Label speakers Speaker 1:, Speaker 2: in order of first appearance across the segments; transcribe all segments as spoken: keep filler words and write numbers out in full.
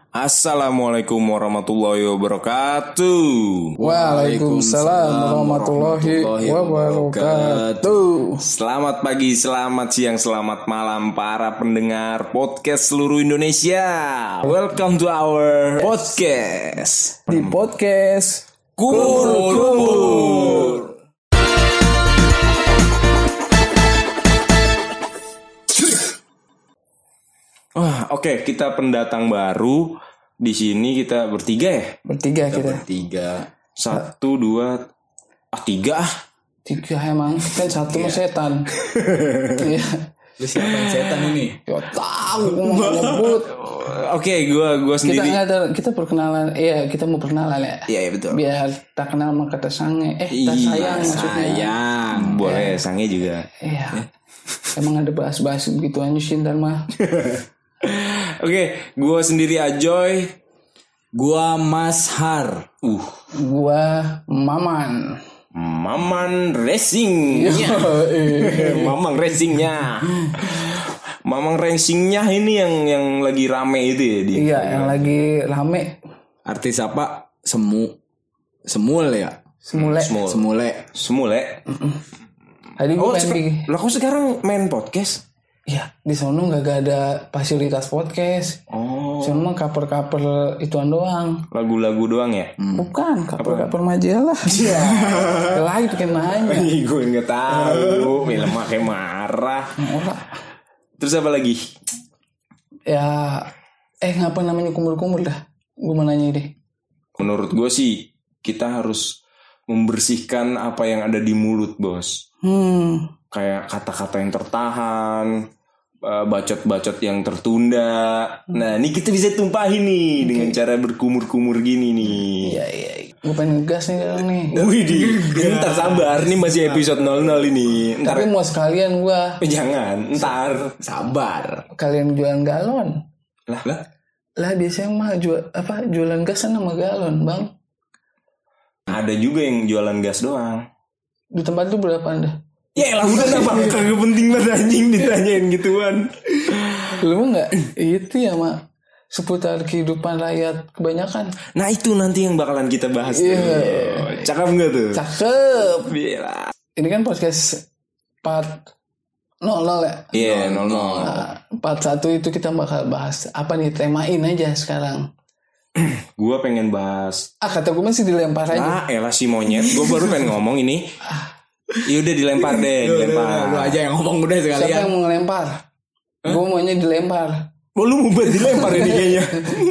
Speaker 1: Assalamualaikum warahmatullahi wabarakatuh.
Speaker 2: Waalaikumsalam warahmatullahi wabarakatuh.
Speaker 1: Selamat pagi, selamat siang, selamat malam para pendengar podcast seluruh Indonesia. Welcome to our podcast.
Speaker 2: Di podcast
Speaker 1: Kur-Kur. Wah, oke, okay, kita pendatang baru di sini, kita bertiga ya?
Speaker 2: Bertiga kita.
Speaker 3: Bertiga.
Speaker 1: Satu, dua, ah tiga ah.
Speaker 2: Tiga emang kan satu mah setan. Iya.
Speaker 3: Lu siapa yang setan ini?
Speaker 2: Ya tahu mau nyebut.
Speaker 1: Oke, gua gua sendiri.
Speaker 2: Kita ada kita perkenalan. Iya, kita mau perkenalan ya.
Speaker 1: Iya, ya, betul.
Speaker 2: Biar tak kenal maka tak sange. Eh, tak
Speaker 1: Iya,
Speaker 2: sayang maksudnya.
Speaker 1: sayang. Boleh, sange juga.
Speaker 2: Iya. Emang ada bahas-bahas begitu aja sih ntar mah.
Speaker 1: Oke, gua sendiri Ajoy.
Speaker 3: Gua Mas Har.
Speaker 1: Uh,
Speaker 2: Gua Maman.
Speaker 1: Maman Racing-nya. Mamang Racing-nya. Mamang Racing-nya ini yang yang lagi rame itu ya di.
Speaker 2: Iya, yang lagi rame.
Speaker 3: Artis apa? Semu. Semul ya?
Speaker 2: Semule.
Speaker 1: Semul.
Speaker 3: Semule.
Speaker 1: Semule.
Speaker 2: Tadi gue
Speaker 1: Oh,
Speaker 2: pengen bikin.
Speaker 1: lah kok sekarang main podcast?
Speaker 2: Ya, di sono nggak ada fasilitas podcast.
Speaker 1: Oh,
Speaker 2: Cuma cover-cover ituan doang.
Speaker 1: lagu-lagu doang ya?
Speaker 2: Bukan, cover-cover majalah. Iya. Lain bikin nanya.
Speaker 1: Ih, gue nggak tahu. Film kayak marah.
Speaker 2: Ora.
Speaker 1: Terus apa lagi?
Speaker 2: Ya, eh ngapa namanya kumur-kumur dah? Gue mau nanya deh.
Speaker 1: Menurut gue sih kita harus membersihkan apa yang ada di mulut, bos.
Speaker 2: Hmm.
Speaker 1: Kayak kata-kata yang tertahan, bacot-bacot yang tertunda. Nah, ini kita bisa tumpahin nih okay. dengan cara berkumur-kumur gini nih.
Speaker 2: Iya, iya. Gue pengen ngegas nih sekarang nih.
Speaker 1: Wih, di, ntar sabar, ini masih episode nol nol ini. Ntar,
Speaker 2: tapi mau sekalian gue.
Speaker 1: Jangan, ntar
Speaker 3: sabar.
Speaker 2: Kalian jualan galon.
Speaker 1: Lah, lah.
Speaker 2: Lah biasanya mah jual apa? Jualan gas sama galon, Bang.
Speaker 1: Ada juga yang jualan gas doang.
Speaker 2: Di tempat itu berapa Anda?
Speaker 1: Ya lah udah apa kagak penting banget anjing ditanyain gituan.
Speaker 2: Lu mah enggak itu ya mak seputar kehidupan rakyat kebanyakan.
Speaker 1: Nah itu nanti yang bakalan kita bahas.
Speaker 2: Iya.
Speaker 1: Tuh. Cakep enggak tuh?
Speaker 2: Cakep.
Speaker 1: Bila.
Speaker 2: Ini kan podcast part nol nol ya.
Speaker 1: Iya yeah, nol nol.
Speaker 2: Nah, part satu itu kita bakal bahas apa nih, temain aja sekarang.
Speaker 1: Gua pengen bahas.
Speaker 2: Ah kata gue masih dilempar aja.
Speaker 1: Ah elah si monyet. Gue baru pengen ngomong ini. Ya udah dilempar deh, dilempar.
Speaker 3: Lu aja yang ngomong udah sekalian.
Speaker 2: Siapa yang mau ngelempar? Huh? Gue maunya dilempar.
Speaker 1: Oh lu mau buat dilempar ini kayaknya.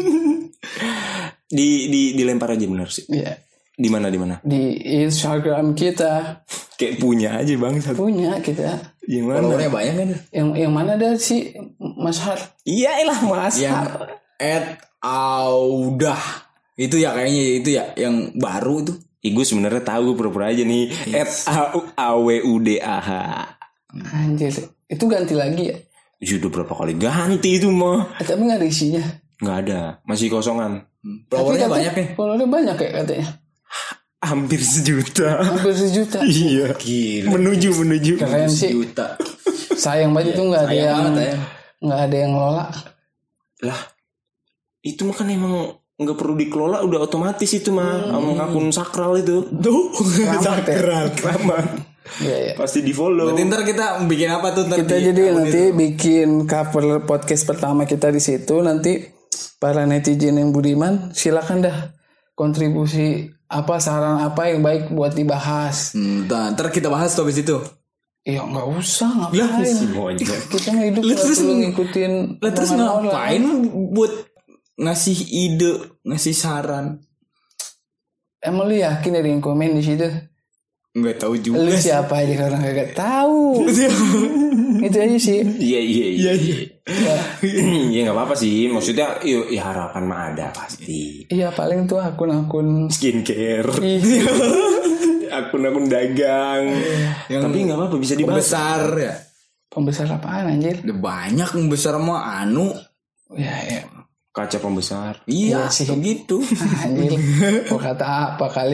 Speaker 1: di di dilempar aja bener sih.
Speaker 2: Iya.
Speaker 1: Di mana di mana?
Speaker 2: Di Instagram kita.
Speaker 1: Kayak punya aja bang.
Speaker 2: Punya kita.
Speaker 1: Yang mana?
Speaker 3: Followernya banyak kan?
Speaker 2: Yang yang mana dah si Mas Har?
Speaker 1: Iya elah Mas
Speaker 3: yang
Speaker 1: Har.
Speaker 3: At Audah. Itu ya kayaknya itu ya yang baru itu.
Speaker 1: Ih gue sebenarnya tahu gue pura-pura aja nih. At A W U D A H.
Speaker 2: Anjir, itu ganti lagi ya?
Speaker 1: Sudah berapa kali ganti itu mah.
Speaker 2: Eh, tapi gak ada isinya.
Speaker 1: Gak ada, masih kosongan.
Speaker 3: Followernya banyak ya?
Speaker 2: Followernya banyak ya katanya.
Speaker 1: Hampir sejuta.
Speaker 2: Hampir sejuta.
Speaker 1: Iya.
Speaker 3: Gila.
Speaker 1: Menuju menuju.
Speaker 2: Keren sih.
Speaker 3: Sejuta.
Speaker 2: Sayang banget itu gak ada yang
Speaker 3: banget,
Speaker 2: gak ada yang ngelola.
Speaker 1: Lah, itu mah kan emang nggak perlu dikelola, udah otomatis itu mah hmm. akun sakral itu.
Speaker 3: Tuh,
Speaker 2: sakral,
Speaker 1: keramat.
Speaker 2: Iya, iya.
Speaker 1: Pasti di follow.
Speaker 3: Berarti ntar kita bikin apa tuh?
Speaker 2: Kita
Speaker 3: di,
Speaker 2: jadi nanti itu? Bikin cover podcast pertama kita di situ. Nanti para netizen yang budiman silakan dah kontribusi apa, saran apa yang baik buat dibahas.
Speaker 3: Hmm, ntar kita bahas tuh abis itu.
Speaker 2: Iya nggak usah ngapain. Kita mah hidup nggak perlu ngikutin.
Speaker 3: Lah terus ngapain buat ngasih ide, ngasih saran?
Speaker 2: Emang lu yakin ada yang komen di situ?
Speaker 3: Enggak tahu juga.
Speaker 2: Lu siapa aja orang kagak tahu. Itu aja sih.
Speaker 1: Iya iya iya.
Speaker 2: Iya.
Speaker 1: Ya nggak apa-apa sih. Maksudnya ya, ya harapan mah ada pasti.
Speaker 2: Iya paling tuh akun-akun
Speaker 1: skincare. Akun-akun dagang. Yang tapi nggak apa-apa bisa dibahas.
Speaker 3: Pembesar ya.
Speaker 2: Pembesar apaan anjir?
Speaker 3: Udah banyak pembesar mah anu.
Speaker 2: Ya ya.
Speaker 1: Kaca pembesar.
Speaker 3: Iya,
Speaker 2: iya sih
Speaker 3: gitu.
Speaker 2: Anjir. Kok kata apa kali?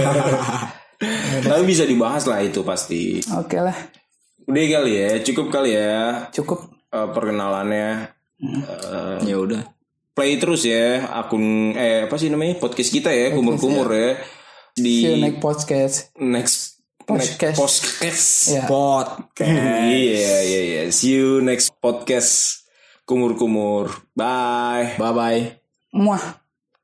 Speaker 1: Tapi bisa dibahas lah itu pasti.
Speaker 2: Oke lah.
Speaker 1: Udah kali ya, cukup kali ya.
Speaker 2: Cukup
Speaker 1: uh, perkenalannya.
Speaker 2: Hmm.
Speaker 1: Uh,
Speaker 3: ya udah.
Speaker 1: play terus ya akun eh apa sih namanya podcast kita ya kumur-kumur ya di
Speaker 2: See you next podcast.
Speaker 1: next
Speaker 2: Podcast.
Speaker 1: next podcast
Speaker 2: Ya.
Speaker 3: Podcast.
Speaker 1: iya iya iya see you next podcast kumur-kumur bye
Speaker 3: Bye bye.
Speaker 2: Muah.